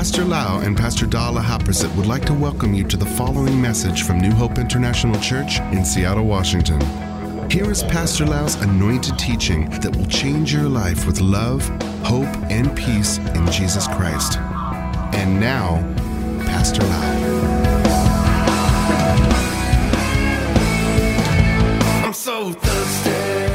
Pastor Lau and Pastor Dala Haprasit would like to welcome you to the following message from New Hope International Church in Seattle, Washington. Here is Pastor Lau's anointed teaching that will change your life with love, hope, and peace in Jesus Christ. And now, Pastor Lau. I'm so thirsty.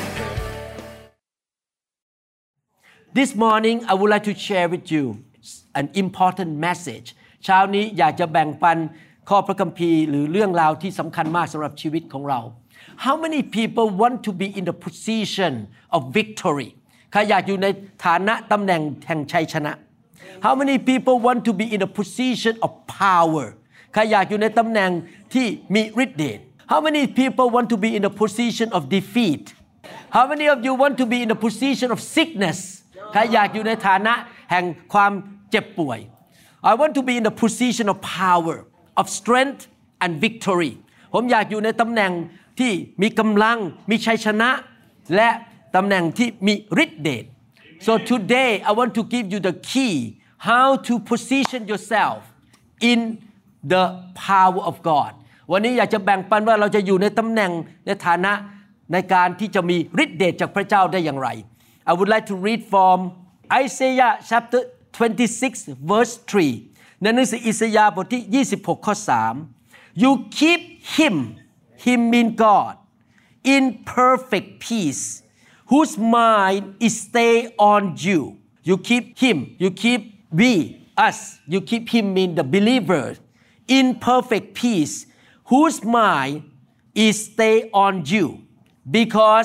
This morning, I would like to share with you an important message เช้านี้อยากจะแบ่งปันข้อพระคัมภีร์หรือเรื่องราวที่สำคัญมากสำหรับชีวิตของเรา How many people want to be in the position of victory ใครอยากอยู่ในฐานะตำแหน่งแห่งชัยชนะ How many people want to be in the position of power ใครอยากอยู่ในตำแหน่งที่มีฤทธิ์เดช How many people want to be in the position of defeat How many of you want to be in the position of sickness ใครอยากอยู่ในฐานะแห่งความเจ็บป่วย I want to be in the position of power of strength and victory ผมอยากอยู่ในตำแหน่งที่มีกำลังมีชัยชนะและตำแหน่งที่มีฤทธิ์เดช So today I want to give you the key how to position yourself in the power of God วันนี้อยากจะแบ่งปันว่าเราจะอยู่ในตำแหน่งในฐานะในการที่จะมีฤทธิ์เดชจากพระเจ้าได้อย่างไร I would like to read from Isaiah chapter 26 verse 3 ในหนังสืออิสยาห์บทที่26ข้อ3 You keep him mean God in perfect peace whose mind is stay on you You keep him you keep us you keep him mean the believer in perfect peace whose mind is stay on you because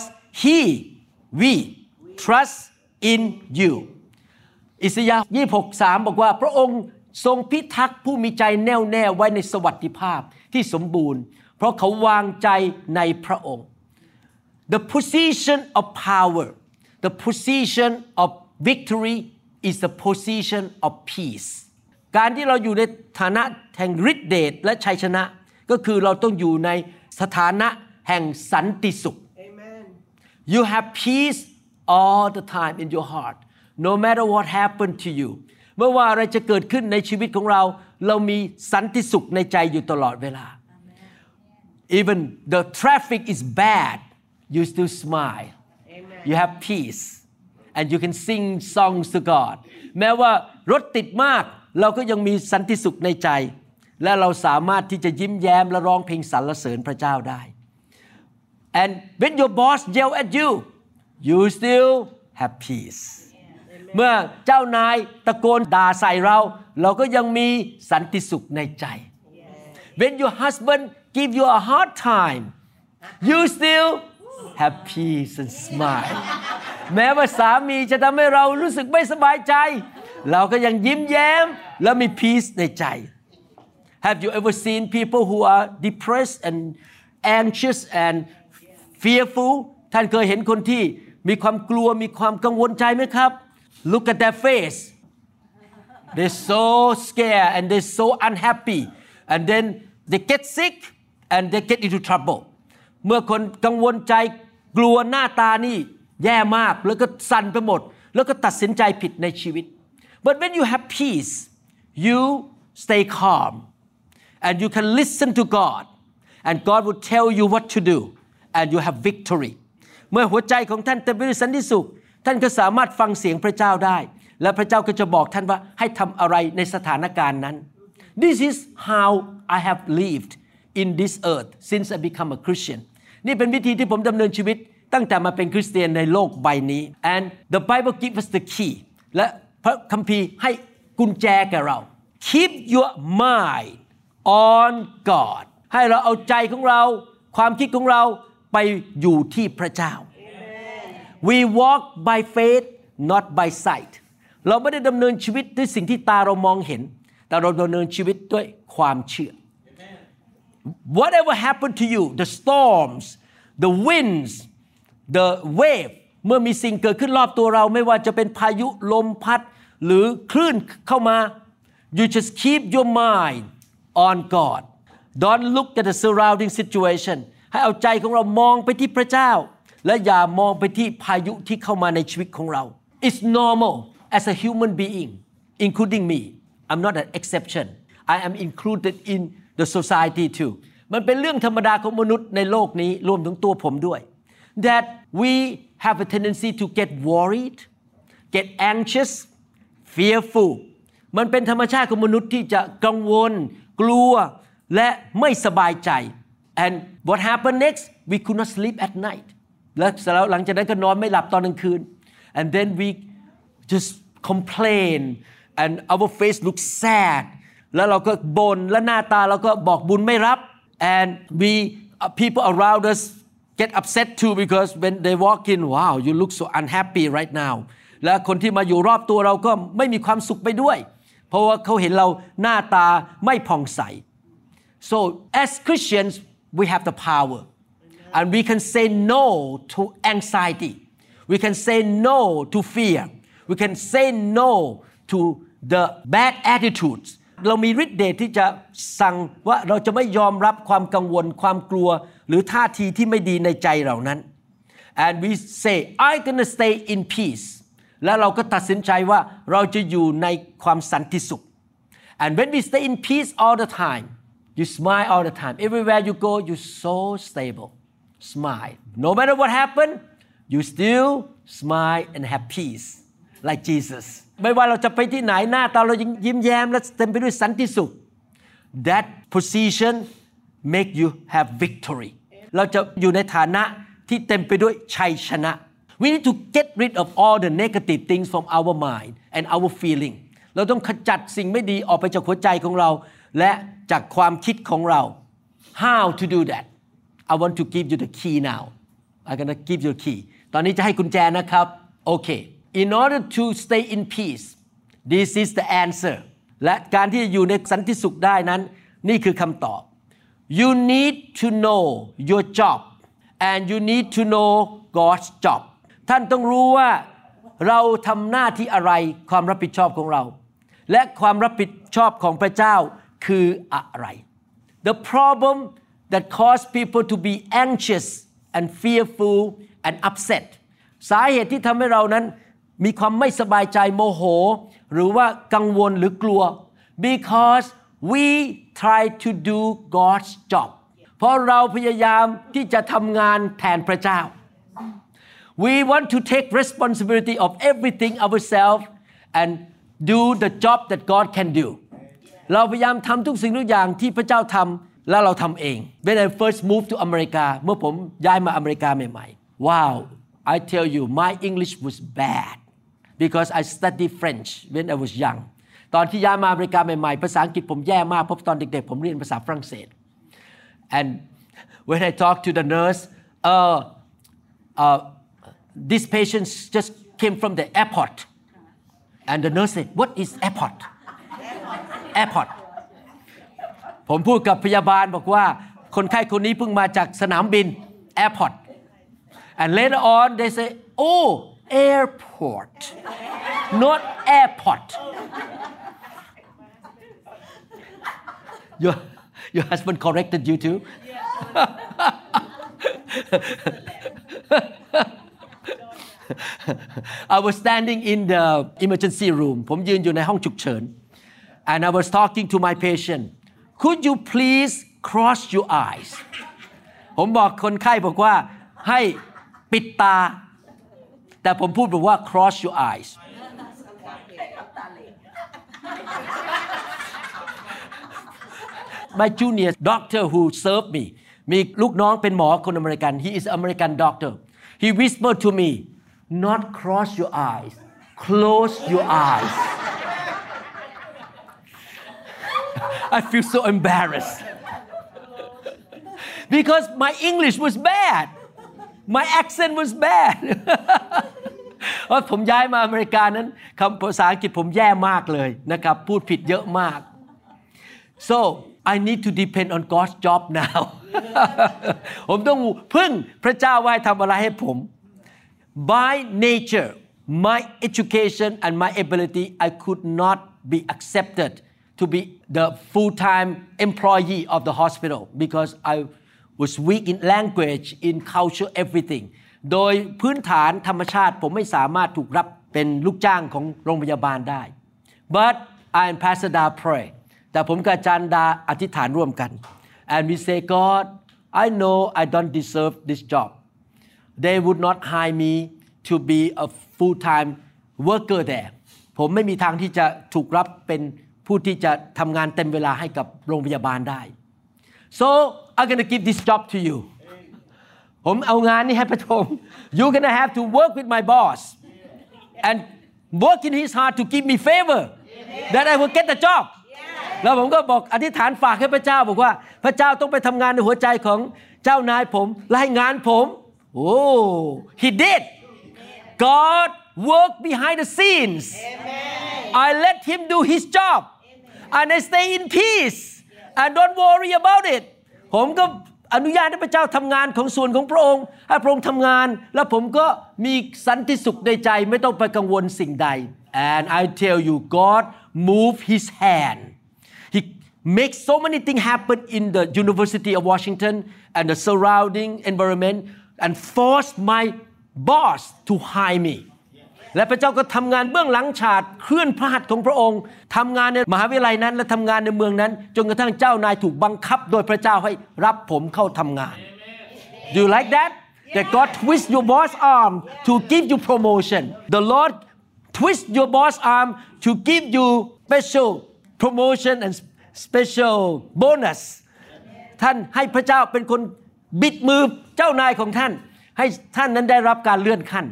we trust in you อิสยาห์ 26:3 บอกว่าพระองค์ทรงพิทักษ์ผู้มีใจแน่วแน่ไว้ในสวัสดิภาพที่สมบูรณ์เพราะเขาวางใจในพระองค์ The position of power the position of victory is the position of peace การที่เราอยู่ในฐานะแห่งฤทธิ์เดชและชัยชนะก็คือเราต้องอยู่ในสถานะแห่งสันติสุข Amen. You have peace all the time in your heart no matter what happened to you ไม่ว่าอะไรจะเกิดขึ้นในชีวิตของเราเรามีสันติสุขในใจอยู่ตลอดเวลา Even the traffic is bad you still smile Amen. You have peace and you can sing songs to God แม้ว่ารถติดมากเราก็ยังมีสันติสุขในใจและเราสามารถที่จะยิ้มแย้มและร้องเพลงสรรเสริญพระเจ้าได้ And when your boss yell at you you still have peace เมื่อเจ้านายตะโกนด่าใส่เราก็ยังมีสันติสุขในใจ When your husband give you a hard time you still have peace and smile แม้ว่าสามีจะทำให้เรารู้สึกไม่สบายใจเราก็ยังยิ้มแย้มและมี peace ในใจ Have you ever seen people who are depressed and anxious and fearful ท่านเคยเห็นคนที่มีความกลัวมีความกังวลใจไหมครับ Look at their face they're so scared and they're so unhappy and then they get sick and they get into trouble เมื่อคนกังวลใจกลัวหน้าตานี่แย่มากแล้วก็สั่นไปหมดแล้วก็ตัดสินใจผิดในชีวิต But when you have peace you stay calm and you can listen to God and God will tell you what to do and you have victory เมื่อหัวใจของท่านเต็มไปด้วยสันติสุขท่านก็สามารถฟังเสียงพระเจ้าได้และพระเจ้าก็จะบอกท่านว่าให้ทำอะไรในสถานการณ์นั้น This is how I have lived in this earth since I become a Christian นี่เป็นวิธีที่ผมดำเนินชีวิตตั้งแต่มาเป็นคริสเตียนในโลกใบนี้ and the Bible gives us the key และพระคัมภีร์ให้กุญแจแก่เรา Keep your mind on God ให้เราเอาใจของเราความคิดของเราไปอยู่ที่พระเจ้า We walk by faith not by sight เราไม่ได้ดำเนินชีวิตด้วยสิ่งที่ตาเรามองเห็นแต่เราดำเนินชีวิตด้วยความเชื่อ Whatever happened to you the storms the winds the wave เมื่อมีสิ่งเกิดขึ้นรอบตัวเราไม่ว่าจะเป็นพายุลมพัดหรือคลื่นเข้ามา You just keep your mind on God Don't look at the surrounding situation ให้เอาใจของเรามองไปที่พระเจ้าและอย่ามองไปที่พายุที่เข้ามาในชีวิตของเรา It's normal as a human being including me I'm not an exception I am included in the society too มันเป็นเรื่องธรรมดาของมนุษย์ในโลกนี้รวมถึงตัวผมด้วย that we have a tendency to get worried get anxious fearful มันเป็นธรรมชาติของมนุษย์ที่จะกังวลกลัวและไม่สบายใจ and what happened next we could not sleep at night แล้วหลังจากนั้นก็นอนไม่หลับตอนกลางคืน and then we just complain and our face looks sad แล้วเราก็บ่นและหน้าตาเราก็บอกบุญไม่รับ and we people around us get upset too because when they walk in wow you look so unhappy right now และคนที่มาอยู่รอบตัวเราก็ไม่มีความสุขไปด้วยเพราะว่าเขาเห็นเราหน้าตาไม่ผ่องใส so as Christians we have the power and we can say no to anxiety we can say no to fear we can say no to the bad attitudes เรามีฤทธิ์เดชที่จะสั่งว่าเราจะไม่ยอมรับความกังวลความกลัวหรือท่าทีที่ไม่ดีในใจเหล่านั้น and we say I'm gonna stay in peace แล้วเราก็ตัดสินใจว่าเราจะอยู่ในความสันติสุข and when we stay in peace all the time you smile all the time everywhere you go you're so stable smile no matter what happen you still smile and have peace like Jesus ไม่ว่าเราจะไปที่ไหนหน้าตาเรายิ้มแย้มและเต็มไปด้วยสันติสุข that position make you have victory เราจะอยู่ในฐานะที่เต็มไปด้วยชัยชนะ we need to get rid of all the negative things from our mind and our feeling เราต้องขจัดสิ่งไม่ดีออกไปจากหัวใจของเราและจากความคิดของเรา how to do that I want to give you the key now I'm gonna give you the key ตอนนี้จะให้กุญแจนะครับโอเคIn order to stay in peace this is the answer และการที่จะอยู่ในสันติสุขได้นั้นนี่คือคำตอบ you need to know your job and you need to know God's job ท่านต้องรู้ว่าเราทำหน้าที่อะไรความรับผิดชอบของเราและความรับผิดชอบของพระเจ้าคืออะไร The problem that cause people to be anxious and fearful and upset สาเหตุที่ทำให้เรานั้นมีความไม่สบายใจโมโหหรือว่ากังวลหรือกลัว because we try to do God's job เพราะเราพยายามที่จะทำงานแทนพระเจ้า we want to take responsibility of everything ourselves and do the job that God can do เราพยายามทำทุกสิ่งทุกอย่างที่พระเจ้าทำแล้วเราทำเอง when I first moved to America เมื่อผมย้ายมาอเมริกาใหม่ๆ wow I tell you my English was bad because I studied French when I was young ตอนที่ย้ายมาอเมริกาใหม่ๆภาษาอังกฤษผมแย่มากเพราะตอนเด็กๆผมเรียนภาษาฝรั่งเศส and when I talk to the nurse this patient just came from the airport and the nurse said what is airport ผมพูดกับพยาบาลบอกว่าคนไข้คนนี้เพิ่งมาจากสนามบิน airport and later on they say oh airport not airport your husband corrected you too I was standing in the emergency room ผมยืนอยู่ในห้องฉุกเฉิน and I was talking to my patient could you please cross your eyes ผมบอกคนไข้บอกว่าให้ปิดตาแต่ผมพูดบอกว่า cross your eyes my junior doctor who served me มีลูกน้องเป็นหมอคนอเมริกัน he is American doctor he whispered to me not cross your eyes close your eyes I feel so embarrassed because my English was bad my accent was bad เพราะผมย้ายมาอเมริกานั้นคำภาษาอังกฤษผมแย่มากเลยนะครับพูดผิดเยอะมาก so I need to depend on God's job now ผมต้องพึ่งพระเจ้าว่าให้ทำอะไรให้ผม by nature my education and my ability I could not be accepted to be the full-time employee of the hospital because I was weak in language in culture everything โดยพื้นฐานธรรมชาติผมไม่สามารถถูกรับเป็นลูกจ้างของโรงพยาบาลได้ but I and Pastor Da pray แต่ผมกับอาจารย์ดาอธิษฐานร่วมกัน and we say God I know I don't deserve this job they would not hire me to be a full-time worker there ผมไม่มีทางที่จะถูกรับเป็นผู้ที่จะทำงานเต็มเวลาให้กับโรงพยาบาลได้ so I'm gonna give this job to you ผมเอางานนี้ให้พระองค์ you're gonna have to work with my boss and work in his heart to give me favor that I will get the job แล้วผมก็บอกอธิษฐานฝากให้พระเจ้าบอกว่าพระเจ้าต้องไปทำงานในหัวใจของเจ้านายผมและให้งานผมhe did God worked behind the scenes I let him do his job and I stay in peace and don't worry about it ผมก็อนุญาตให้พระเจ้าทำงานของส่วนของพระองค์ให้พระองค์ทำงานแล้วผมก็มีสันติสุขในใจไม่ต้องไปกังวลสิ่งใด and I tell you God moved his hand he makes so many things happen in the University of Washington and the surrounding environment and forced my boss to hire me และพระเจ้าก็ทำงานเบื้องหลังฉากเคลื่อนพระหัตถ์ของพระองค์ทำงานในมหาวิทยาลัยนั้นและทำงานในเมืองนั้นจนกระทั่งเจ้านายถูกบังคับโดยพระเจ้าให้รับผมเข้าทำงาน Do you like that? That God twist your boss arm to give you promotion. The Lord twist your boss arm to give you special promotion and special bonus. ท่านให้พระเจ้าเป็นคนบิดมือเจ้านายของท่านให้ท่านนั้นได้รับการเลื่อนขั้น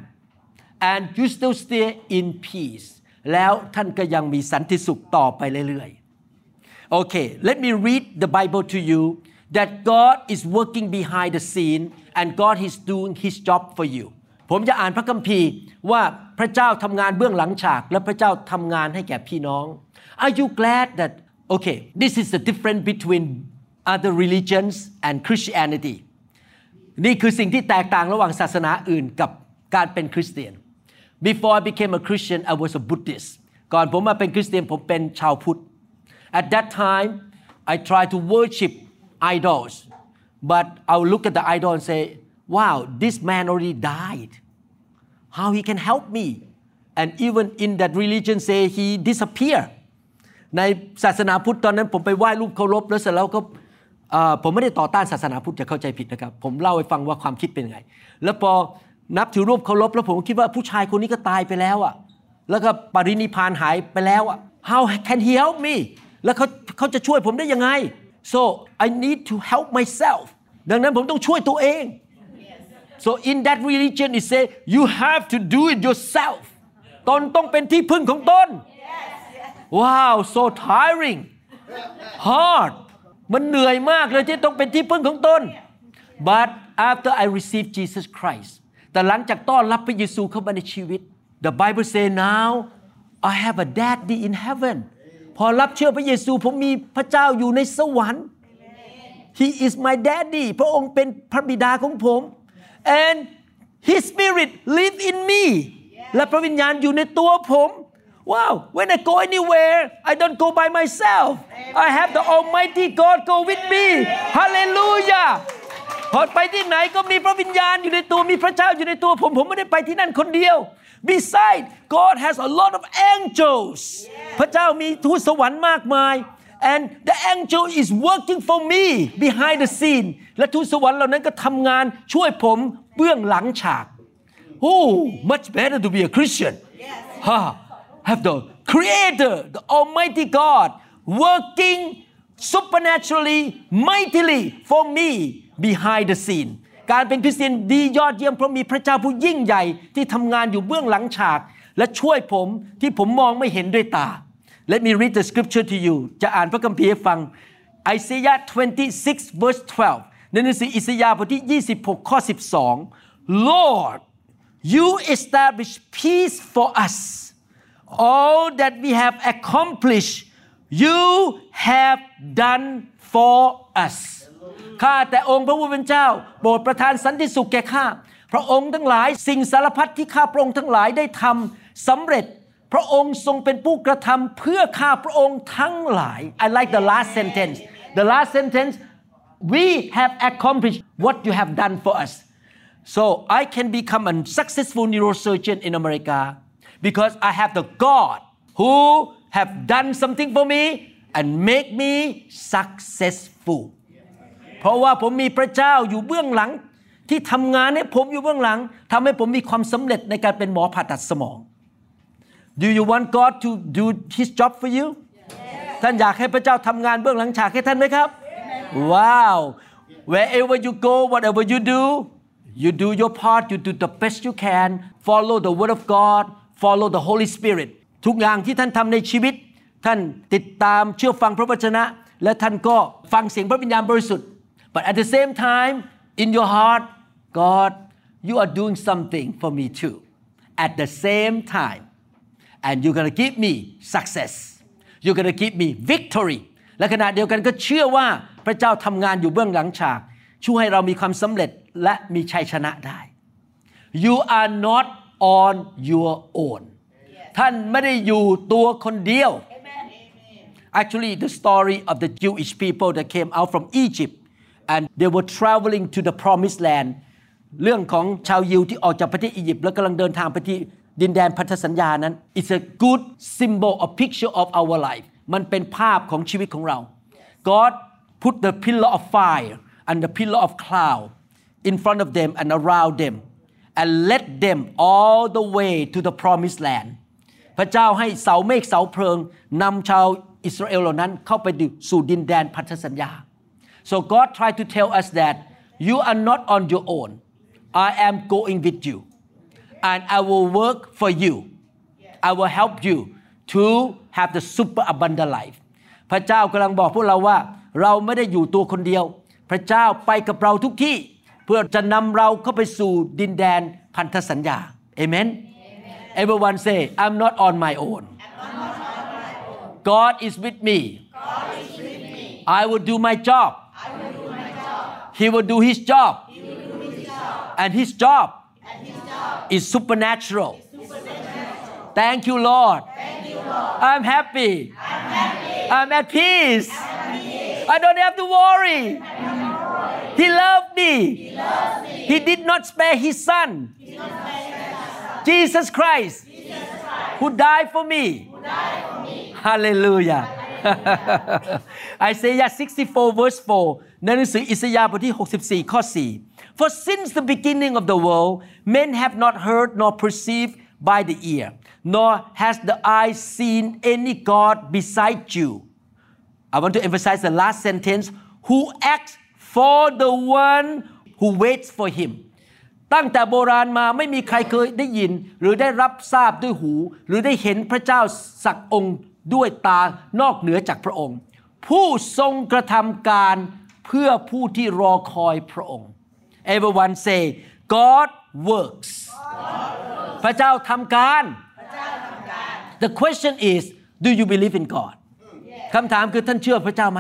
and you still stay in peace แล้วท่านก็ยังมีสันติสุขต่อไปเรื่อยๆ Okay let me read the Bible to you that God is working behind the scene and God is doing his job for you ผมจะอ่านพระคัมภีร์ว่าพระเจ้าทำงานเบื้องหลังฉากและพระเจ้าทำงานให้แก่พี่น้อง Are you glad that okay this is the difference between other religions and Christianity นี่คือสิ่งที่แตกต่างระหว่างศาสนาอื่นกับการเป็นคริสเตียน Before I became a Christian I was a Buddhist ก่อนผมมาเป็นคริสเตียนผมเป็นชาวพุทธ At that time I tried to worship idols but I would look at the idol and say wow this man already died how he can help me and even in that religion say he disappeared ในศาสนาพุทธตอนนั้นผมไปไหว้รูปเคารพแล้วเสร็จแล้วก็ผมไม่ได้ต่อต้านศาสนาพุทธจะเข้าใจผิดนะครับผมเล่าให้ฟังว่าความคิดเป็นยังไงแล้วพอนับถือรูปเคารพแล้วผมคิดว่าผู้ชายคนนี้ก็ตายไปแล้วอ่ะแล้วก็ปรินิพพานหายไปแล้วอ่ะ How can he help me แล้วเขาจะช่วยผมได้ยังไง So I need to help myself ดังนั้นผมต้องช่วยตัวเอง So in that religion it say you have to do it yourself ตนต้องเป็นที่พึ่งของตน Wow so tiring hard มันเหนื่อยมากเลยที่ต้องเป็นที่พึ่งของตน But after I received Jesus Christ แต่หลังจากต้อนรับพระเยซูเข้ามาในชีวิต The Bible say now I have a daddy in heaven พอรับเชื่อพระเยซูผมมีพระเจ้าอยู่ในสวรรค์ He is my daddy พระองค์เป็นพระบิดาของผม and His Spirit live in me และพระวิญญาณอยู่ในตัวผม Wow when I go anywhere I don't go by myself I have the Almighty God go with me Hallelujah พอไปที่ไหนก็มีพระวิญญาณอยู่ในตัวมีพระเจ้าอยู่ในตัวผมไม่ได้ไปที่นั่นคนเดียว Besides God has a lot of angels พระเจ้ามีทูตสวรรค์มากมาย and the angel is working for me behind the scene และทูตสวรรค์เหล่านั้นก็ทำงานช่วยผมเบื้องหลังฉาก Oh much better to be a Christian have the Creator the Almighty God working supernaturally mightily for me behind the scene การเป็นคริสเตียนดียอดเยี่ยมเพราะมีพระเจ้าผู้ยิ่งใหญ่ที่ทำงานอยู่เบื้องหลังฉากและช่วยผมที่ผมมองไม่เห็นด้วยตา Let me read the scripture to you จะอ่านพระคัมภีร์ให้ฟัง Isaiah 26 verse 12 ในหนังสืออิสยาห์บทที่26ข้อ12 Lord you establish peace for us all that we have accomplished you have done for us ข้าแต่องค์พระผู้เป็นเจ้าโปรดประทานสันติสุขแก่ข้าพระองค์ทั้งหลายสิ่งสารพัดที่ข้าพระองค์ทั้งหลายได้ทำสำเร็จพระองค์ทรงเป็นผู้กระทำเพื่อข้าพระองค์ทั้งหลาย I like the last sentence the last sentence we have accomplished what you have done for us so I can become a successful neurosurgeon in America because I have the God who have done something for me and make me successful เพราะว่าผมมีพระเจ้าอยู่เบื้องหลังที่ทำงานให้ผมอยู่เบื้องหลังทำให้ผมมีความสำเร็จในการเป็นหมอผ่าตัดสมอง Do you want God to do His job for you ท่านอยากให้พระเจ้าทำงานเบื้องหลังฉากให้ท่านไหมครับ Wow wherever you go whatever you do your part you do the best you can follow the word of God follow the Holy Spirit ทุกอย่างที่ท่านทำในชีวิตท่านติดตามเชื่อฟังพระวจนะและท่านก็ฟังเสียงพระวิญญาณบริสุทธิ์ but at the same time in your heart God you are doing something for me too at the same time and you're going to give me success you're going to give me victory และขณะเดียวกันก็เชื่อว่าพระเจ้าทำงานอยู่เบื้องหลังฉากช่วยให้เรามีความสำเร็จและมีชัยชนะได้ You are not on your own ท่านไม่ได้อยู่ตัวคนเดียว Actually the story of the Jewish people that came out from Egypt and they were traveling to the promised land เรื่องของชาวยิวที่ออกจากประเทศอียิปต์แล้วกำลังเดินทางไปที่ดินแดนพันธสัญญานั้น It's a good symbol a picture of our life มันเป็นภาพของชีวิตของเรา God put the pillar of fire and the pillar of cloud in front of them and around them and led them all the way to the promised land พระเจ้าให้เสาเมฆเสาเพลิงนำชาวอิสราเอลเหล่านั้นเข้าไปสู่ดินแดนพันธสัญญา So God tried to tell us that you are not on your own I am going with you and I will work for you I will help you to have the super abundant life พระเจ้ากำลังบอกพวกเราว่าเราไม่ได้อยู่ตัวคนเดียวพระเจ้าไปกับเราทุกที่เพื่อจะนำเราเข้าไปสู่ดินแดนพันธสัญญา Amen Everyone say I'm not on my own God is with me I will do my job He will do His job and His job is supernatural Thank you Lord I'm happy I'm at peace I don't have to worry He loved me He did not spare His son Jesus Christ who died for me Hallelujah Isaiah 64 verse 4ในหนังสืออิสยาห์บทที่64ข้อ4 For since the beginning of the world men have not heard nor perceived by the ear nor has the eye seen any God beside you I want to emphasize the last sentence who acts for the one who waits for him ตั้งแต่โบราณมาไม่มีใครเคยได้ยินหรือได้รับทราบด้วยหูหรือได้เห็นพระเจ้าสักองค์ด้วยตานอกเหนือจากพระองค์ผู้ทรงกระทำการเพื่อผู้ที่รอคอยพระองค์ Everyone say God works พระเจ้าทำการ The question is do you believe in God คำถามคือท่านเชื่อพระเจ้าไหม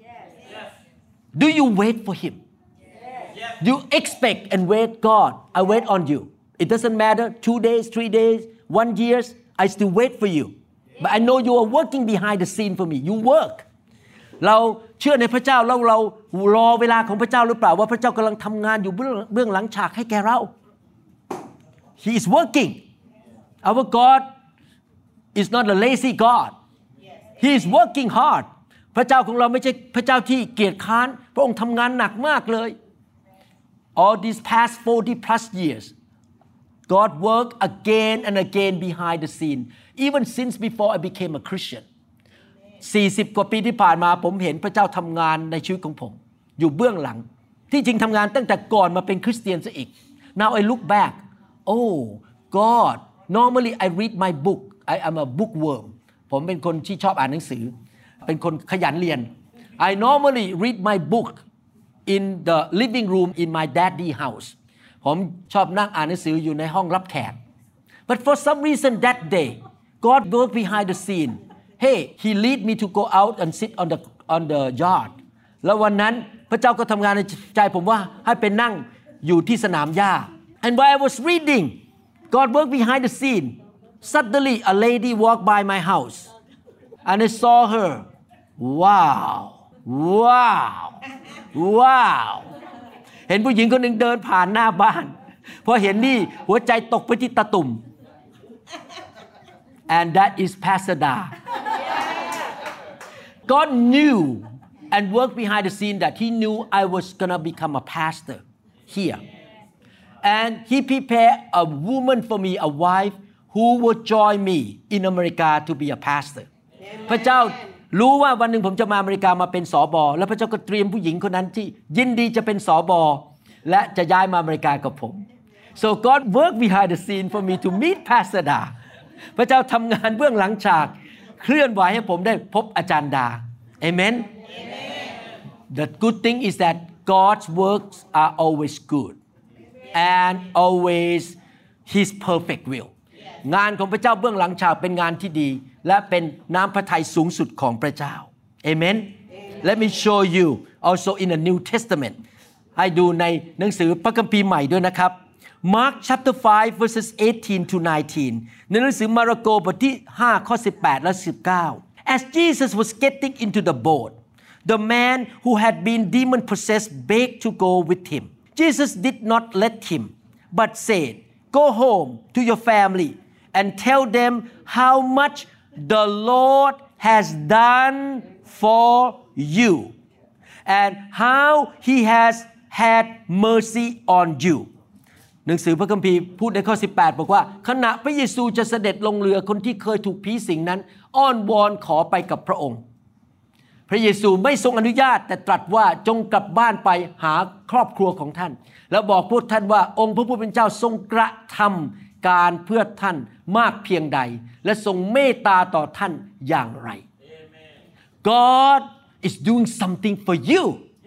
Do you wait for Him Do you expect and wait God I wait on you It doesn't matter 2 days 3 days 1 year I still wait for you But I know you are working behind the scene for me You work เราเชื่อในพระเจ้าแล้วเรารอเวลาของพระเจ้าหรือเปล่าว่าพระเจ้ากำลังทำงานอยู่เบื้องหลังฉากให้แก่เรา He is working Our God is not a lazy God He is working hard พระเจ้าของเราไม่ใช่พระเจ้าที่เกียจคร้านพระองค์ทำงานหนักมากเลย All these past 40 plus years God worked again and again behind the scene even since before I became a Christian 40 กว่าปีที่ผ่านมาผมเห็นพระเจ้าทำงานในชีวิตของผมอยู่เบื้องหลังที่จริงทำงานตั้งแต่ก่อนมาเป็นคริสเตียนซะอีก Now I look back Oh God normally I read my book I am a bookworm ผมเป็นคนที่ชอบอ่านหนังสือเป็นคนขยันเรียน I normally read my book in the living room in my daddy house ผมชอบนั่งอ่านหนังสืออยู่ในห้องรับแขก But for some reason that day God worked behind the scene Hey He lead me to go out and sit on the yard แล้ววันนั้นพระเจ้าก็ทำงานในใจผมว่าให้ไปนั่งอยู่ที่สนามหญ้า And while I was reading God worked behind the scene Suddenly a lady walked by my house and I saw her Wowเห็นผู้หญิงคนหนึ่งเดินผ่านหน้าบ้านพอเห็นนี่หัวใจตกไปที่ตะตุ่ม And that is Pastor Da God knew and worked behind the scene that He knew I was gonna become a pastor here, and He prepared a woman for me, a wife who would join me in America to be a pastor. พระเจ้ารู้ว่าวันหนึ่งผมจะมาอเมริกามาเป็นสบแล้วพระเจ้าก็เตรียมผู้หญิงคนนั้นที่ยินดีจะเป็นสบและจะย้ายมาอเมริกากับผม So God worked behind the scene for me to meet Pastor Da พระเจ้าทำงานเบื้องหลังฉากเคลื่อนไหวให้ผมได้พบอาจารย์ดา Amen The good thing is that God's works are always good and always His perfect will งานของพระเจ้าเบื้องหลังฉากเป็นงานที่ดีและเป็นน้ำพระทัยสูงสุดของพระเจ้า Amen Let me show you also in the New Testament ให้ดูในหนังสือพระคัมภีร์ใหม่ด้วยนะครับ Mark chapter 5 verses 18 to 19 ในหนังสือมาระโกบทที่5ข้อ18และ19 As Jesus was getting into the boat the man who had been demon possessed begged to go with him Jesus did not let him but said go home to your family and tell them how much the Lord has done for you and how he has had mercy on you หนังสือพระคัมภีร์พูดในข้อ18บอกว่าขณะพระเยซูจะเสด็จลงเรือคนที่เคยถูกผีสิงนั้นอ้อนวอนขอไปกับพระองค์พระเยซูไม่ทรงอนุญาตแต่ตรัสว่าจงกลับบ้านไปหาครอบครัวของท่านแล้วบอกพวกท่านว่าองค์พระผู้เป็นเจ้าทรงกระทำการเพื่อท่านมากเพียงใดและทรงเมตตาต่อท่านอย่างไร God is doing something for you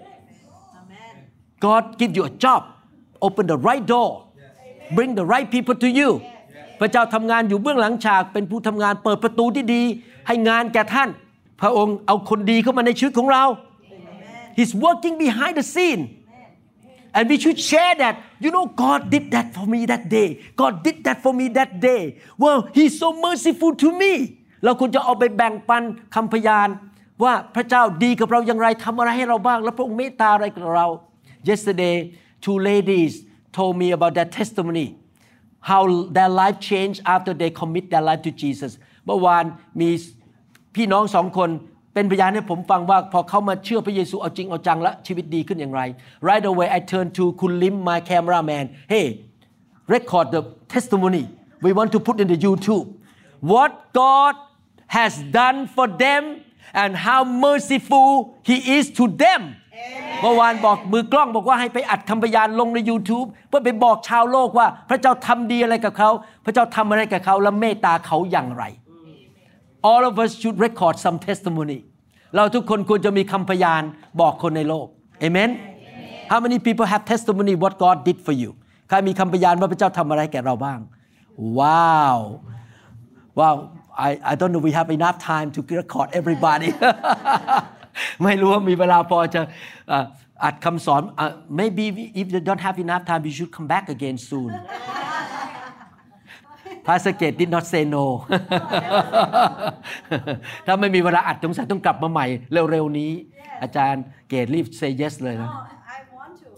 God give you a job open the right door bring the right people to you พระเจ้าทำงานอยู่เบื้องหลังฉากเป็นผู้ทำงานเปิดประตูที่ดีให้งานแก่ท่านพระองค์เอาคนดีเข้ามาในชีวิตของเรา He's working behind the scene and we should share that you know God did that for me that day God did that for me that day well He's so merciful to me เราควรจะเอาไปแบ่งปันคำพยานว่าพระเจ้าดีกับเราอย่างไรทำอะไรให้เราบ้างและพระองค์เมตตาอะไรกับเรา Yesterday two ladies told me about their testimony how their life changed after they commit their life to Jesus เมื่อวานมีพี่น้องสองคนเป็นพยานให้ผมฟังว่าพอเขามาเชื่อพระเยซูเอาจริงเอาจังและชีวิตดีขึ้นอย่างไร Right away I turned to คุณลิม my cameraman Hey record the testimony we want to put in the YouTube what God has done for them and how merciful He is to them เมื่อวานบอกมือกล้องบอกว่าให้ไปอัดคำพยานลงใน YouTube เพื่อไปบอกชาวโลกว่าพระเจ้าทำดีอะไรกับเขาพระเจ้าทำอะไรกับเขาและเมตตาเขาอย่างไรAll of us should record some testimony เราทุกคนควรจะมีคำพยานบอกคนในโลก Amen How many people have testimony what God did for you ใครมีคำพยานว่าพระเจ้าทำอะไรแก่เราบ้าง Wow I don't know we have enough time to record everybody ไม่รู้ว่ามีเวลาพอจะอัดคำสอน Maybe if you don't have enough time you should come back again soon Pastor Gate did not say no ถ้าไม่มีเวลาอัดสงสัยต้องกลับมาใหม่เร็วๆนี้อาจารย์เกตรีบ say yes เลยนะ I want to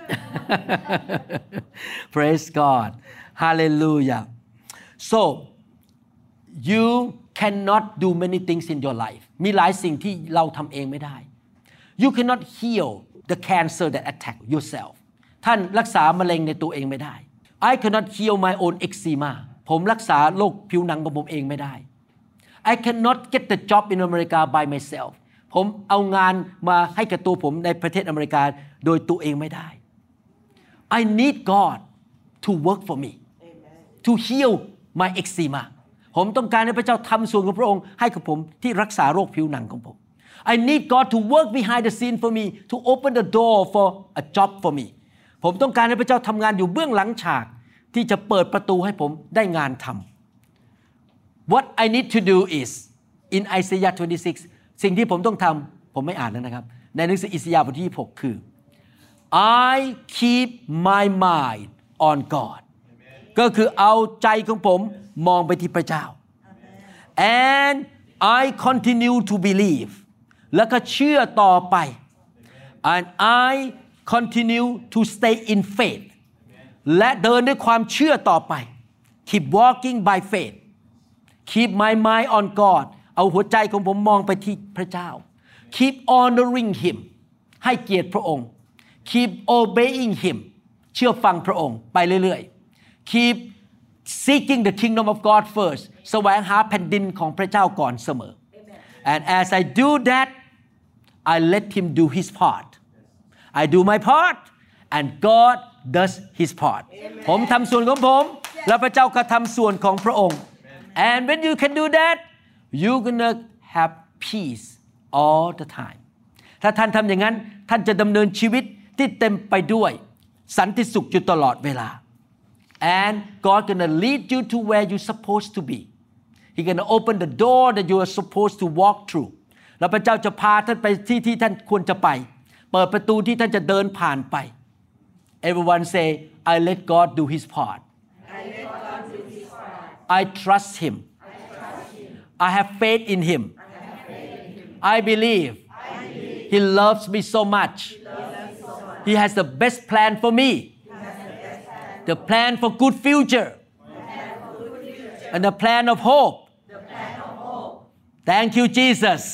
Praise God Hallelujah So you cannot do many things in your life มีหลายสิ่งที่เราทำเองไม่ได้ You cannot heal the cancer that attack yourself ท่านรักษามะเร็งในตัวเองไม่ได้ I cannot heal my own eczemaผมรักษาโรคผิวหนังของผมเองไม่ได้ I cannot get the job in America by myself ผมเอางานมาให้กับตัวผมในประเทศอเมริกาโดยตัวเองไม่ได้ I need God to work for me to heal my eczema ผมต้องการให้พระเจ้าทำส่วนของพระองค์ให้กับผมที่รักษาโรคผิวหนังของผม I need God to work behind the scene for me to open the door for a job for me ผมต้องการให้พระเจ้าทำงานอยู่เบื้องหลังฉากที่จะเปิดประตูให้ผมได้งานทำ What I need to do is in Isaiah 26 สิ่งที่ผมต้องทำผมไม่อ่านแล้วนะครับในหนังสืออิสยาห์บทที่26คือ I keep my mind on God ก็คือเอาใจของผมมองไปที่พระเจ้า and I continue to believe แล้วก็เชื่อต่อไป and I continue to stay in faith และเดินด้วยความเชื่อต่อไป keep walking by faith keep my mind on God เอาหัวใจของผมมองไปที่พระเจ้า keep honoring him ให้เกียรติพระองค์ keep obeying him เชื่อฟังพระองค์ไปเรื่อยๆ keep seeking the kingdom of God first แสวงหาแผ่นดินของพระเจ้าก่อนเสมอ and as I do that I let him do his part I do my part and God does his part ผมทำส่วนของผมแล้วพระเจ้าก็ทำส่วนของพระองค์ and when you can do that you're gonna have peace all the time ถ้าท่านทำอย่างนั้นท่านจะดำเนินชีวิตที่เต็มไปด้วยสันติสุขอยู่ตลอดเวลา and God gonna lead you to where you're supposed to be He gonna open the door that you are supposed to walk through แล้วพระเจ้าจะพาท่านไปที่ท่านควรจะไปเปิดประตูที่ท่านจะเดินผ่านไป Everyone say I let God do his part I trust him I have faith in him I believe he loves me so much he has the best plan for me the plan for good future and the plan of hope thank you Jesus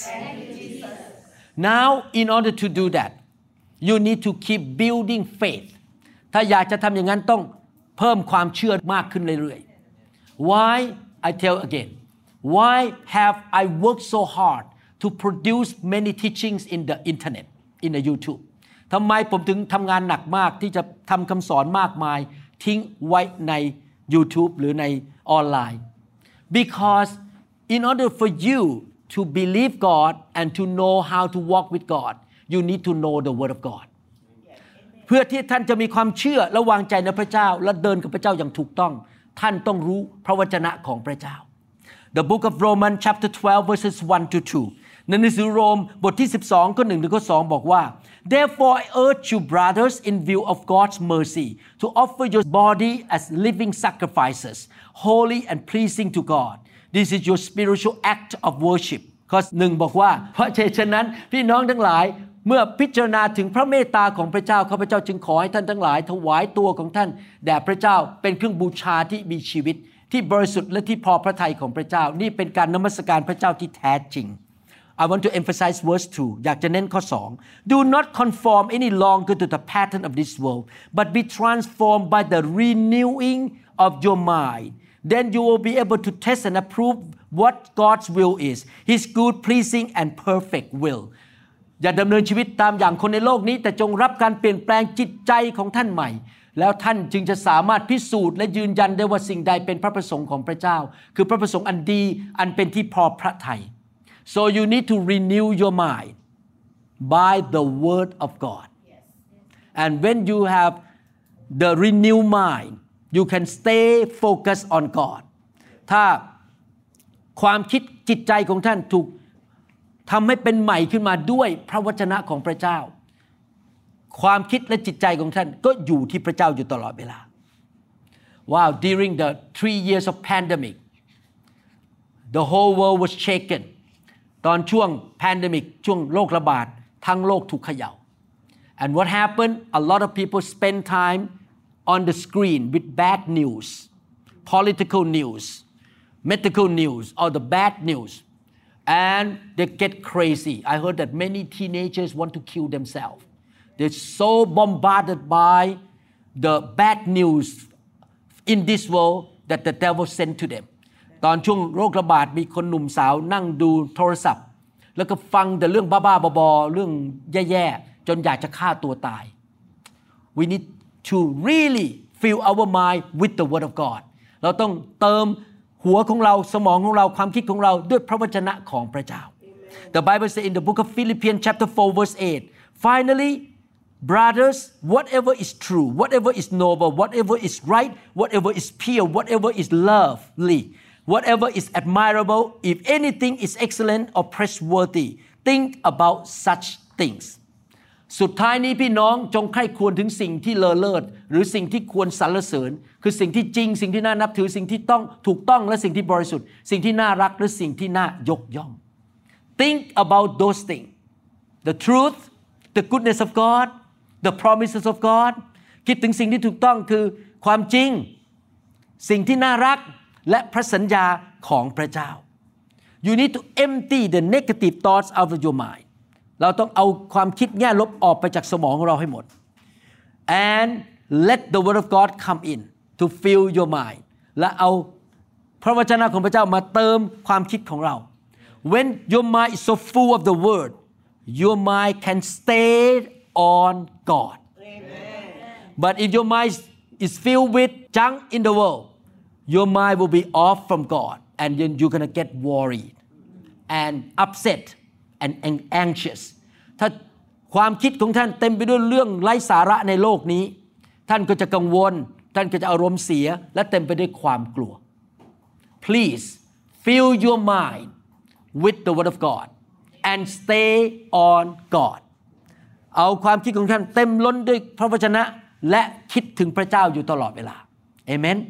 now in order to do that you need to keep building faith ถ้าอยากจะทำอย่างนั้นต้องเพิ่มความเชื่อมากขึ้นเรื่อยๆ why I tell again why have I worked so hard to produce many teachings in the internet in the YouTube ทำไมผมถึงทำงานหนักมากที่จะทำคำสอนมากมายทิ้งไว้ใน YouTube หรือในออนไลน์ because in order for you to believe God and to know how to walk with God you need to know the word of God เพื่อที่ท่านจะมีความเชื่อและวางใจในพระเจ้าและเดินกับพระเจ้าอย่างถูกต้องท่านต้องรู้พระวจนะของพระเจ้า The book of Romans chapter 12 verses 1 to 2 ในหนังสือโรมบทที่12ข้อ1ถึงข้อ2บอกว่า Therefore I urge you brothers in view of God's mercy to offer your body as living sacrifices holy and pleasing to God This is your spiritual act of worship ข้อ1บอกว่าเพราะฉะนั้นพี่น้องทั้งหลายเมื่อพิจารณาถึงพระเมตตาของพระเจ้าข้าพเจ้าจึงขอให้ท่านทั้งหลายถวายตัวของท่านแด่พระเจ้าเป็นเครื่องบูชาที่มีชีวิตที่บริสุทธิ์และที่พอพระทัยของพระเจ้านี่เป็นการนมัสการพระเจ้าที่แท้จริง I want to emphasize verse 2 อยากจะเน้นข้อ2 Do not conform any longer to the pattern of this world but be transformed by the renewing of your mind Then you will be able to test and approve what God's will is His good pleasing and perfect will อย่าดำเนินชีวิตตามอย่างคนในโลกนี้แต่จงรับการเปลี่ยนแปลงจิตใจของท่านใหม่แล้วท่านจึงจะสามารถพิสูจน์และยืนยันได้ว่าสิ่งใดเป็นพระประสงค์ของพระเจ้าคือพระประสงค์อันดีอันเป็นที่พอพระทัย So you need to renew your mind by the word of God and when you have the renewed mind you can stay focused on God ถ้าความคิดจิตใจของท่านถูกทำให้เป็นใหม่ขึ้นมาด้วยพระวจนะของพระเจ้าความคิดและจิตใจของท่านก็อยู่ที่พระเจ้าอยู่ตลอดเวลา Wow during the 3 years of pandemic the whole world was shaken ตอนช่วง pandemic ช่วงโรคระบาดทั้งโลกถูกเขย่า and what happened a lot of people spend time on the screen with bad news political news medical news or the bad news and they get crazy I heard that many teenagers want to kill themselves they're so bombarded by the bad news in this world that the devil sent to them ตอนช่วงโรคระบาดมีคนหนุ่มสาวนั่งดูโทรศัพท์แล้วก็ฟังแต่เรื่องบ้าๆบอๆเรื่องแย่ๆจนอยากจะฆ่าตัวตาย we need to really fill our mind with the word of God เราต้องเติมหัวของเราสมองของเราความคิดของเราด้วยพระวจนะของพระเจ้า The Bible says in the book of Philippians chapter 4 verse 8 Finally brothers whatever is true whatever is noble whatever is right whatever is pure whatever is lovely whatever is admirable if anything is excellent or praiseworthy think about such thingsสุดท้ายนี้พี่น้องจงใคร่ครวญถึงสิ่งที่เลอเลิศหรือสิ่งที่ควรสรรเสริญคือสิ่งที่จริงสิ่งที่น่านับถือสิ่งที่ต้องถูกต้องและสิ่งที่บริสุทธิ์สิ่งที่น่ารักหรือสิ่งที่น่ายกย่อง Think about those things the truth the goodness of God the promises of God คิดถึงสิ่งที่ถูกต้องคือความจริงสิ่งที่น่ารักและพระสัญญาของพระเจ้า You need to empty the negative thoughts out of your mind เราต้องเอาความคิดแง่ลบออกไปจากสมองของเราให้หมด and let the word of God come in to fill your mind และเอาพระวจนะของพระเจ้ามาเติมความคิดของเรา when your mind is so full of the word your mind can stay on God but if your mind is filled with junk in the world your mind will be off from God and then you're going to get worried and upset and anxious ถ้าความคิดของท่านเต็มไปด้วยเรื่องไร้สาระในโลกนี้ท่านก็จะกังวลท่านก็จะอารมณ์เสียและเต็มไปด้วยความกลัว Please fill your mind with the word of God and stay on God เอาความคิดของท่านเต็มล้นด้วยพระวจนะและคิดถึงพระเจ้าอยู่ตลอดเวลา Amen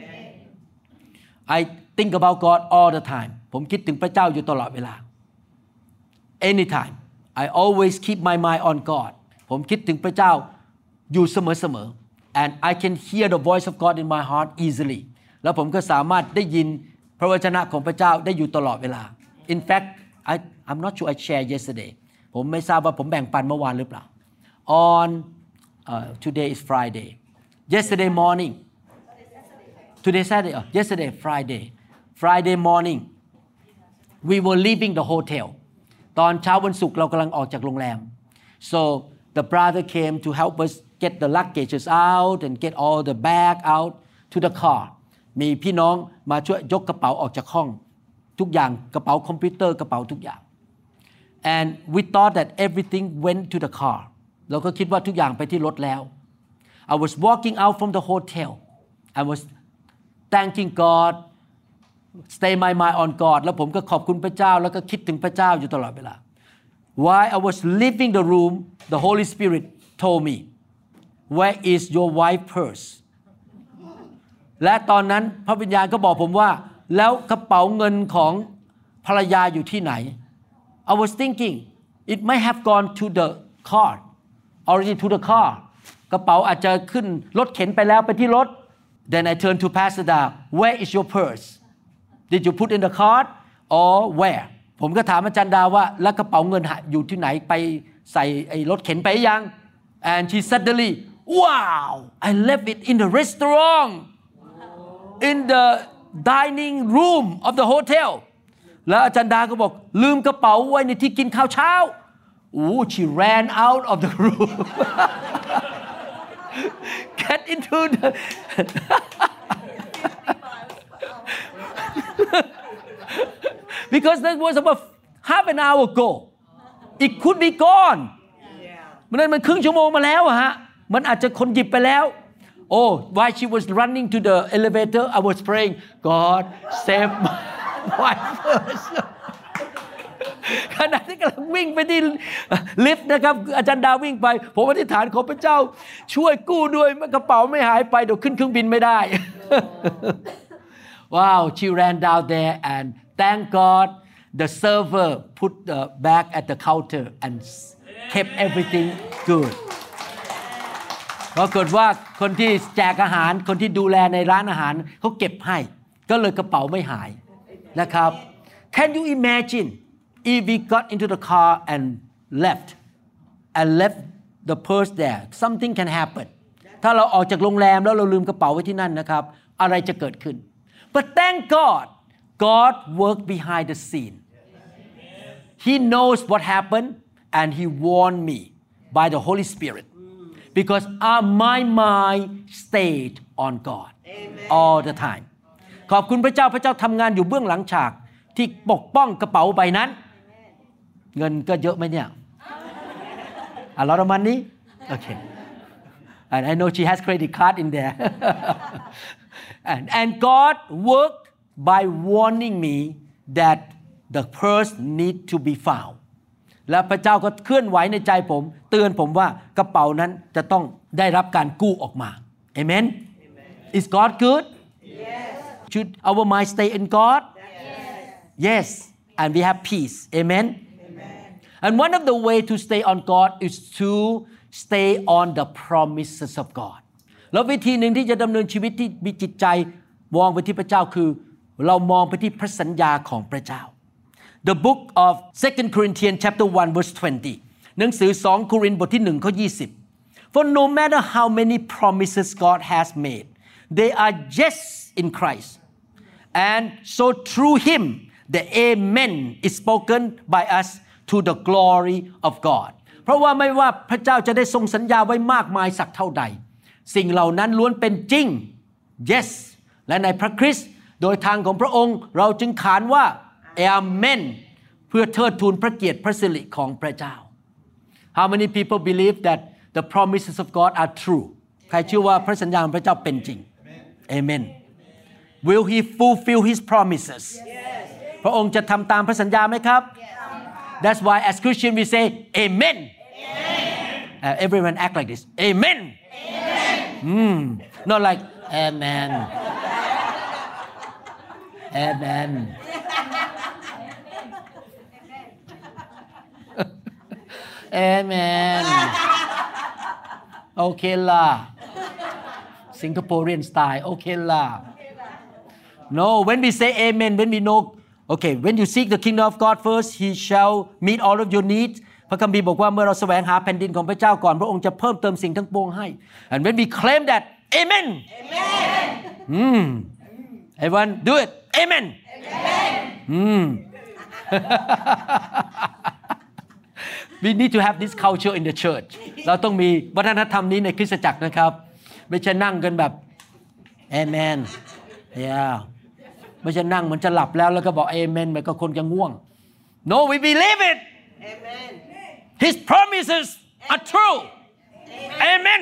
I think about God all the time ผมคิดถึงพระเจ้าอยู่ตลอดเวลา Anytime I always keep my mind on God ผมคิดถึงพระเจ้าอยู่เสมอๆ and I can hear the voice of God in my heart easily แล้วผมก็สามารถได้ยินพระวจนะของพระเจ้าได้อยู่ตลอดเวลา In fact I'm not sure I shared yesterday ผมไม่ทราบว่าผมแบ่งปันเมื่อวานหรือเปล่า On today is Friday yesterday morning today Saturday yesterday Friday morning we were leaving the hotel ตอนเช้าวันศุกร์เรากำลังออกจากโรงแรม so the brother came to help us get the luggages out and get all the bag out to the car มีพี่น้องมาช่วยยกกระเป๋าออกจากห้องทุกอย่างกระเป๋าคอมพิวเตอร์กระเป๋าทุกอย่าง and we thought that everything went to the car เราก็คิดว่าทุกอย่างไปที่รถแล้ว I was walking out from the hotel I was thanking God stay my mind on God แล้วผมก็ขอบคุณพระเจ้าแล้วก็คิดถึงพระเจ้าอยู่ตลอดเวลา While I was leaving the room the Holy Spirit told me where is your wife's purse และตอนนั้นพระวิญญาณก็บอกผมว่าแล้วกระเป๋าเงินของภรรยาอยู่ที่ไหน I was thinking it might have gone to the car already to the car กระเป๋าอาจจะขึ้นรถเข็นไปแล้วไปที่รถ Then I turned to Pastor Da where is your purse Did you put in the cart or where ผมก็ถามอาจารย์ดาว่าแล้วกระเป๋าเงินอยู่ที่ไหนไปใส่ไอ้รถเข็นไปยัง And she suddenly wow I left it in the restaurant in the dining room of the hotel แล้วอาจารย์ดาก็บอกลืมกระเป๋าไว้ในที่กินข้าวเช้า she ran out of the room get into the because that was about half an hour ago it could be gone มันครึ่งชั่วโมงมาแล้วอะฮะมันอาจจะคนหยิบไปแล้ว oh while she was running to the elevator I was praying God save my wife first ขณะที่กำลังวิ่งไปที่ลิฟต์นะครับอาจารย์ดาวิ่งไปผมอธิษฐานขอพระเจ้าช่วยกู้ด้วยกระเป๋าไม่หายไปเดี๋ยวขึ้นเครื่องบินไม่ได้ Wow she ran down there and thank God the server put the bag at the counter and kept everything good ปรากฏว่าคนที่แจกอาหารคนที่ดูแลในร้านอาหารเขาเก็บให้ก็เลยกระเป๋าไม่หายนะครับ Can you imagine if we got into the car and left the purse there something can happen ถ้าเราออกจากโรงแรมแล้วเราลืมกระเป๋าไว้ที่นั่นนะครับอะไรจะเกิดขึ้น But thank God worked behind the scene He knows what happened and He warned me by the Holy Spirit because my mind stayed on God all the time ขอบคุณพระเจ้าพระเจ้าทำงานอยู่เบื้องหลังฉากที่ปกป้องกระเป๋าใบนั้นเงินก็เยอะไหมเนี่ย A lot of money okay and I know she has credit card in there and God worked by warning me that the purse need to be found และพระเจ้าก็เคลื่อนไหวในใจผมเตือนผมว่ากระเป๋านั้นจะต้องได้รับการกู้ออกมา Amen Is God good Yes Should our mind stay in God Yes and we have peace Amen And one of the way to stay on God is to stay on the promises of God แล้ววิธีหนึ่งที่จะดำเนินชีวิตที่มีจิตใจมองไปที่พระเจ้าคือเรามองไปที่พระสัญญาของพระเจ้า The book of 2 Corinthians chapter 1 verse 20 หนังสือ2โครินธ์บทที่1ข้อ20 For no matter how many promises God has made they are yes in Christ and so through him the amen is spoken by us to the glory of God เพราะว่าไม่ว่าพระเจ้าจะได้ทรงสัญญาไว้มากมายสักเท่าใดสิ่งเหล่านั้นล้วนเป็นจริง yes และในพระคริสต์โดยทางของพระองค์เราจึงขานว่า amen เพื่อเทิดทูนพระเกียรติพระสิริของพระเจ้า How many people believe that the promises of God are true ใครเชื่อว่าพระสัญญาของพระเจ้าเป็นจริง Amen Will he fulfill his promises พระองค์จะทำตามพระสัญญาไหมครับ That's why as Christian we say Amen Everyone act like this Amen Not like Amen Amen Amen โอเคล่ะ Singaporean style โอเคล่ะ No when we say amen when we know okay when you seek the kingdom of God first he shall meet all of your needs พระคัมภีร์บอกว่าเมื่อเราแสวงหาแผ่นดินของพระเจ้าก่อนพระองค์จะเพิ่มเติมสิ่งทั้งปวงให้ and when we claim that amen everyone do it amen We need to have this culture in the church เราต้องมีวัฒนธรรมนี้ในคริสตจักรนะครับไม่ใช่นั่งกันแบบ Amen yeah ไม่ใช่นั่งเหมือนจะหลับแล้วก็บอก Amen มันก็คนจะง่วง No we believe it Amen His promises are true Amen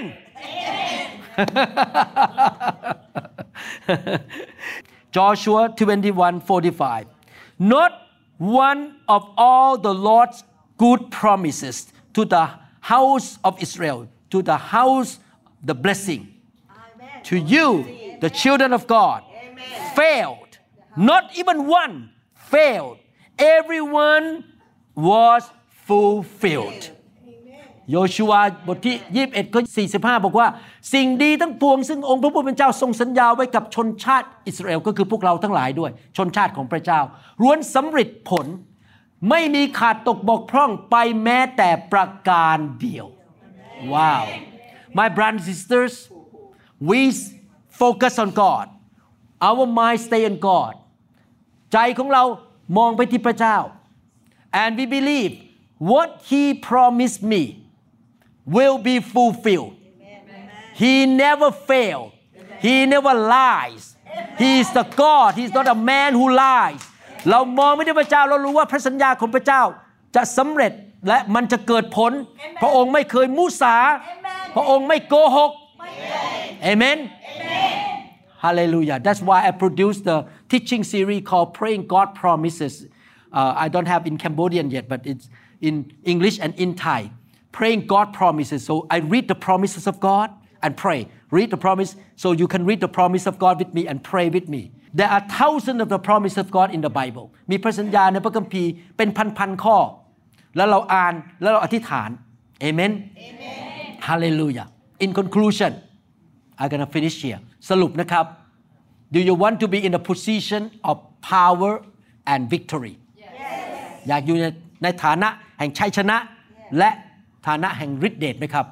Joshua 21:45 Not one of all the Lord's good promises to the house of Israel to the house the blessing Amen. To you the children of God Amen. Failed not even one failed everyone was fulfilled โยชูวาบทที่21ข้อ45บอกว่าสิ่งดีทั้งปวงซึ่งองค์พระผู้เป็นเจ้าทรงสัญญาไว้กับชนชาติอิสราเอลก็คือพวกเราทั้งหลายด้วยชนชาติของพระเจ้าล้วนสำเร็จผลไม่มีขาดตกบกพร่องไปแม้แต่ประการเดียว Wow My brothers and sisters we focus on God our mind stay on God ใจของเรามองไปที่พระเจ้า and we believe what he promised me will be fulfilled he never fail he never lies he is the God he is not a man who liesเรามองไม่ได้พระเจ้าเรารู้ว่าพระสัญญาของพระเจ้าจะสำเร็จและมันจะเกิดผล Amen. พระองค์ไม่เคยมุสา Amen. พระองค์ไม่โกหก Amen. Hallelujah That's why I produced the teaching series called Praying God Promises I don't have in Cambodian yet but it's in English and in Thai Praying God Promises so I read the promises of God and pray read the promise so you can read the promise of God with me and pray with me There are thousands of the promises of God in the Bible มีพระสัญญาในพระคัมภีร์เป็นพันๆข้อแล้วเราอ่านแล้วเราอธิษฐาน Amen Hallelujah In conclusion I'm gonna finish here สรุปนะครับ Do you want to be in a position of power and victory อยากอยู่ในฐานะแห่งชัยชนะและฐานะแห่งฤทธิ์เดชไหมครับ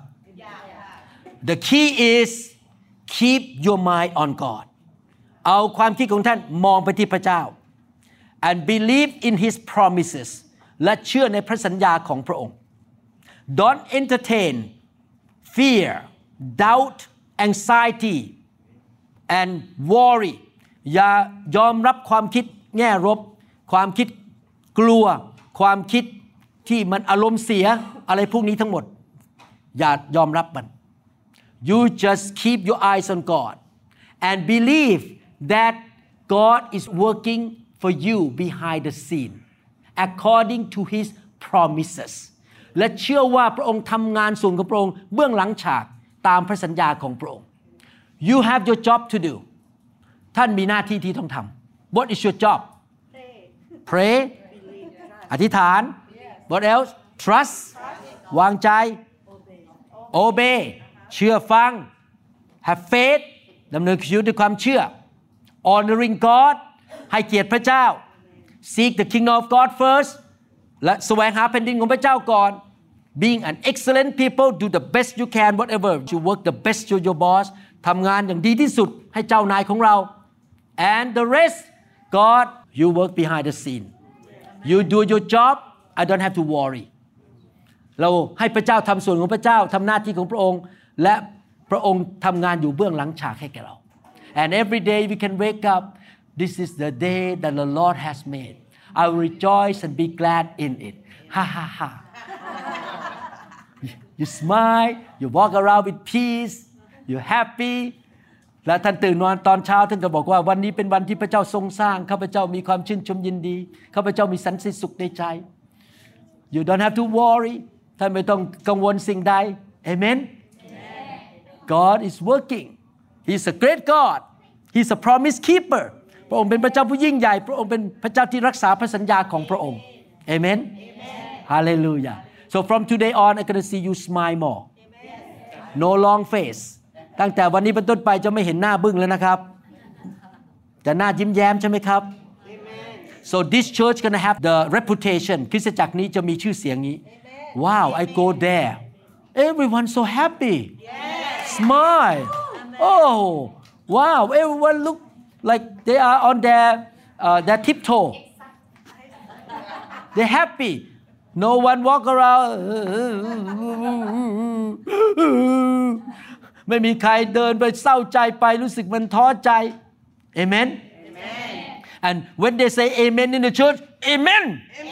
The key is keep your mind on Godเอาความคิดของท่านมองไปที่พระเจ้า and believe in his promises และเชื่อในพระสัญญาของพระองค์ Don't entertain fear doubt anxiety and worry อย่ายอมรับความคิดแง่ลบความคิดกลัวความคิดที่มันอารมณ์เสียอะไรพวกนี้ทั้งหมดอย่ายอมรับมัน You just keep your eyes on God and believe that God is working for you behind the scene according to his promises และเชื่อว่าพระองค์ทำงานส่วนของพระองค์เบื้องหลังฉากตามพระสัญญาของพระองค์ You have your job to do ท่านมีหน้าที่ที่ต้องทำ What is your job Pray อธิษฐาน What else Trust วางใจ Obey เชื่อฟัง Have faith ดำเนินชีวิตด้วยความเชื่อHonoring God ให้เกียรติพระเจ้า Seek the kingdom of God first และแสวงหาแผ่นดินของพระเจ้าก่อน being an excellent people do the best you can whatever you work the best to your boss ทำงานอย่างดีที่สุดให้เจ้านายของเรา and the rest God you work behind the scene you do your job I don't have to worry เราให้พระเจ้าทำส่วนของพระเจ้าทำหน้าที่ของพระองค์และพระองค์ทำงานอยู่เบื้องหลังฉากให้แก่เรา and every day we can wake up this is the day that the Lord has made I will rejoice and be glad in it ha ha ha you smile you walk around with peace you're happy และท่านตื่นนอนตอนเช้าท่านก็บอกว่าวันนี้เป็นวันที่พระเจ้าทรงสร้างข้าพเจ้ามีความชื่นชมยินดีข้าพเจ้ามีสันติสุขในใจ you don't have to worry ท่านไม่ต้องกังวลสิ่งใด amen God is working He's a great God He's a promise keeper พระองค์เป็นพระเจ้าผู้ยิ่งใหญ่พระองค์เป็นพระเจ้าที่รักษาพระสัญญาของพระองค์ amen hallelujah so from today on I'm going to see you smile more no long face ตั้งแต่วันนี้เป็นต้นไปจะไม่เห็นหน้าบึ้งแล้วนะครับจะหน้ายิ้มแย้มใช่ไหมครับ so this church gonna have the reputation คริสตจักรนี้จะมีชื่อเสียงนี้ wow I go there everyone so happy smile oh wow everyone look like they are on their tiptoe they're happy no one walk around ไม่มีใครเดินไปเศร้าใจไปรู้สึกมันท้อใจ amen and when they say amen in the church amen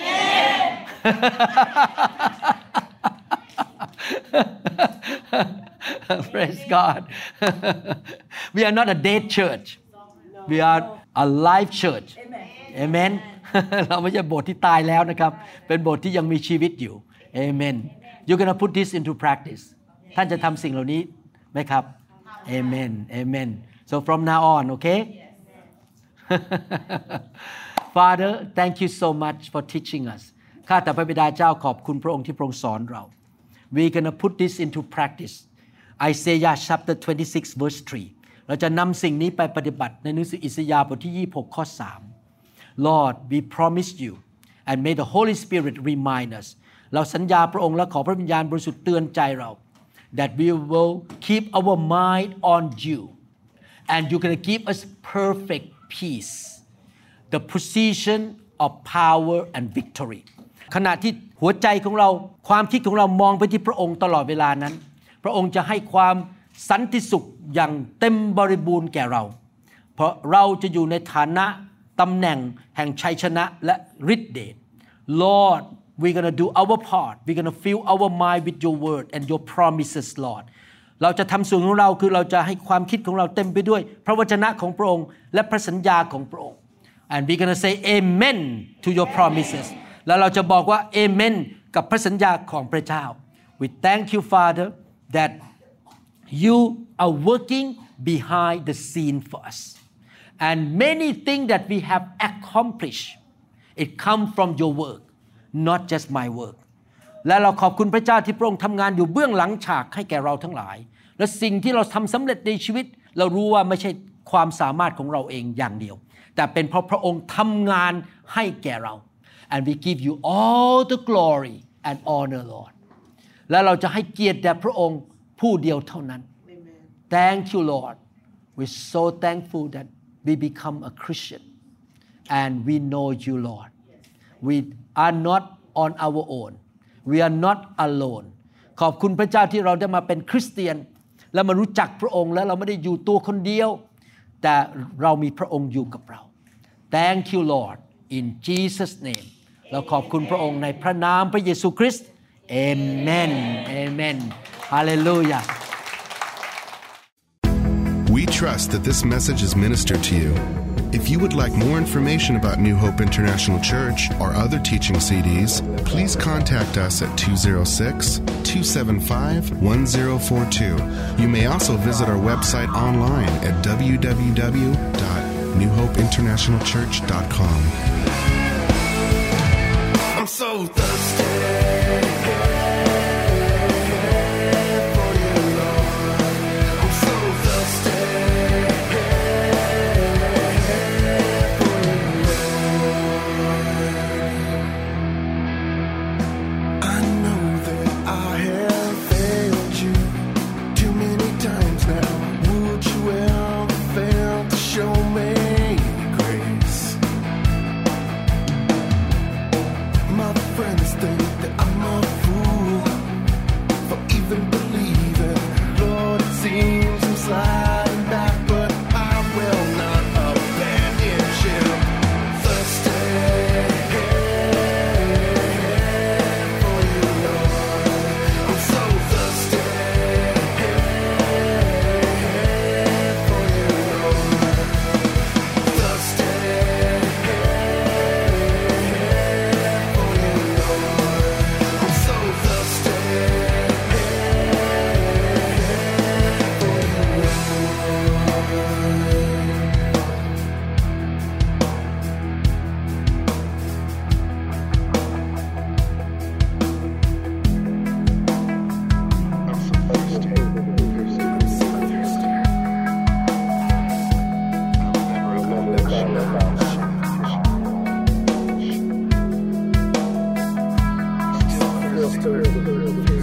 praise God we are not a dead church we are a live church amen เราไม่ใช่โบสถ์ที่ตายแล้วนะครับเป็นโบสถ์ที่ยังมีชีวิตอยู่ amen you're gonna put this into practice ท่านจะทำสิ่งเหล่านี้ไหมครับ amen amen so from now on okay Father thank you so much for teaching us ข้าแต่พระบิดาเจ้าขอบคุณพระองค์ที่พระองค์สอนเรา we're gonna put this into practice Isaiah chapter 26 verse 3เราจะนำสิ่งนี้ไปปฏิบัติในหนังสืออิสยาห์บทที่26ข้อ3 Lord we promise you and may the Holy Spirit remind us เราสัญญาพระองค์และขอพระวิญญาณบริสุทธิ์เตือนใจเรา that we will keep our mind on you and you're going to give us perfect peace the position of power and victory ขณะที่หัวใจของเราความคิดของเรามองไปที่พระองค์ตลอดเวลานั้นพระองค์จะให้ความสันติสุขอย่างเต็มบริบูรณ์แก่เราเพราะเราจะอยู่ในฐานะตำแหน่งแห่งชัยชนะและฤทธิ์เดช Lord we're going to do our part we're going to fill our mind with your word and your promises Lord เราจะทำส่วนของเราคือเราจะให้ความคิดของเราเต็มไปด้วยพระวจนะของพระองค์และพระสัญญาของพระองค์ and we're going to say amen to your promises แล้วเราจะบอกว่า amen กับพระสัญญาของพระเจ้า we thank you Father that you are working behind the scene for us and many things that we have accomplished it come from your work not just my work และเราขอบคุณพระเจ้าที่พระองค์ทำงานอยู่เบื้องหลังฉากให้แก่เราทั้งหลายและสิ่งที่เราทำสำเร็จในชีวิตเรารู้ว่าไม่ใช่ความสามารถของเราเองอย่างเดียวแต่เป็นเพราะพระองค์ทำงานให้แก่เรา and we give you all the glory and honor Lord และเราจะให้เกียรติแด่พระองค์ผู้เดียวเท่านั้น Thank you Lord we're so thankful that we become a Christian and we know you Lord we are not on our own we are not alone ขอบคุณพระเจ้าที่เราได้มาเป็นคริสเตียนและมารู้จักพระองค์และเราไม่ได้อยู่ตัวคนเดียวแต่เรามีพระองค์อยู่กับเรา Thank you Lord in Jesus name เราขอบคุณพระองค์ในพระนามพระเยซูคริสต์ Amen Amen Hallelujah We trust that this message is ministered to you. If you would like more information about New Hope International Church or other teaching CDs, please contact us at 206-275-1042. You may also visit our website online at www.newhopeinternationalchurch.com. I'm so thirsty. Spirit.